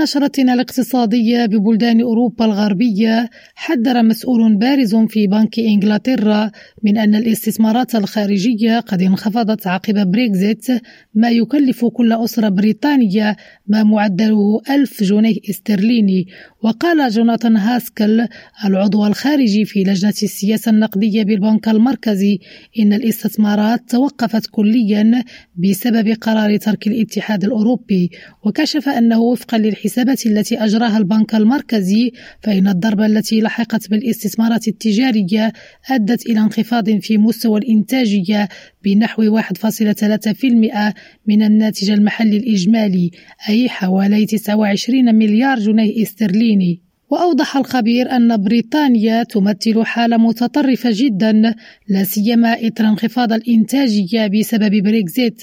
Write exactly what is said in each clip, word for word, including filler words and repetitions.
نشرتنا الاقتصادية ببلدان أوروبا الغربية، حذر مسؤول بارز في بنك إنجلترا من أن الاستثمارات الخارجية قد انخفضت عقب بريكزيت، ما يكلف كل أسرة بريطانية ما معدله ألف جنيه استرليني. وقال جوناثان هاسكل العضو الخارجي في لجنة السياسة النقدية بالبنك المركزي إن الاستثمارات توقفت كليا بسبب قرار ترك الاتحاد الأوروبي. وكشف أنه وفقا للحسابات التي أجراها البنك المركزي فإن الضربة التي لحقت بالاستثمارات التجارية أدت إلى انخفاض في مستوى الإنتاجية بنحو واحد فاصلة ثلاثة بالمئة من الناتج المحلي الإجمالي، أي حوالي تسعة وعشرين مليار جنيه استرليني. وأوضح الخبير أن بريطانيا تمثل حالة متطرفة جدا، لا سيما إثر انخفاض الإنتاجية بسبب بريكزيت،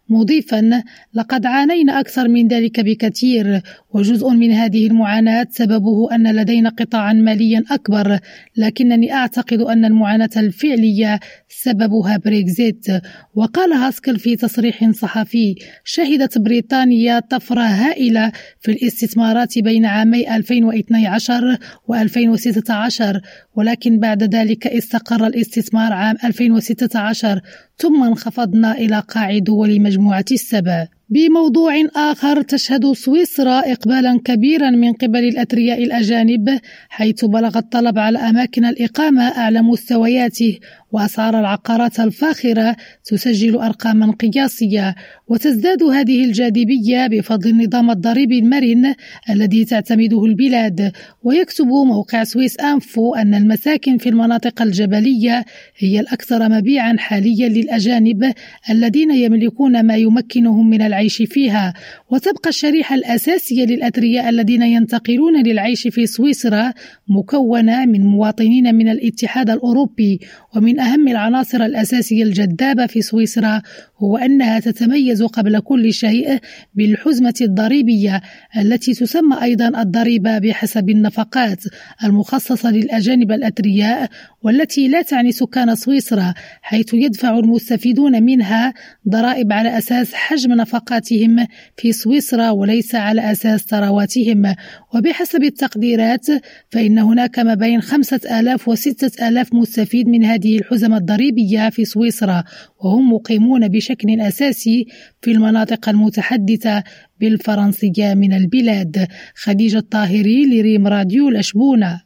مضيفا لقد عانينا أكثر من ذلك بكثير، وجزء من هذه المعاناة سببه أن لدينا قطاعا ماليا أكبر، لكنني أعتقد أن المعاناة الفعلية سببها بريكزيت. وقال هاسكل في تصريح صحفي: شهدت بريطانيا طفرة هائلة في الاستثمارات بين عامي ألفين واثني عشر وألفين وستة عشر، ولكن بعد ذلك استقر الاستثمار عام ألفين وستة عشر، ثم انخفضنا إلى قاع دول مجموعة السبع. بموضوع آخر، تشهد سويسرا إقبالا كبيرا من قبل الأثرياء الأجانب، حيث بلغ الطلب على أماكن الإقامة أعلى مستوياته، وأسعار العقارات الفاخرة تسجل أرقاما قياسية. وتزداد هذه الجاذبية بفضل النظام الضريبي المرن الذي تعتمده البلاد. ويكتب موقع سويس أنفو أن المساكن في المناطق الجبلية هي الأكثر مبيعا حاليا للأجانب الذين يملكون ما يمكنهم من العيش فيها. وتبقى الشريحة الأساسية للأثرياء الذين ينتقلون للعيش في سويسرا مكونة من مواطنين من الاتحاد الأوروبي. ومن أهم العناصر الأساسية الجذابة في سويسرا هو أنها تتميز قبل كل شيء بالحزمة الضريبية التي تسمى أيضا الضريبة بحسب النفقات المخصصة للأجانب الأثرياء، والتي لا تعني سكان سويسرا، حيث يدفع المستفيدون منها ضرائب على أساس حجم نفقاتهم في سويسرا وليس على أساس ثرواتهم. وبحسب التقديرات فإن هناك ما بين خمسة آلاف وستة آلاف مستفيد من هذه الحزمة الضريبية في سويسرا، وهم مقيمون بشكل أساسي في المناطق المتحدثة بالفرنسية من البلاد. خديجة الطاهري لريم راديو الأشبونة.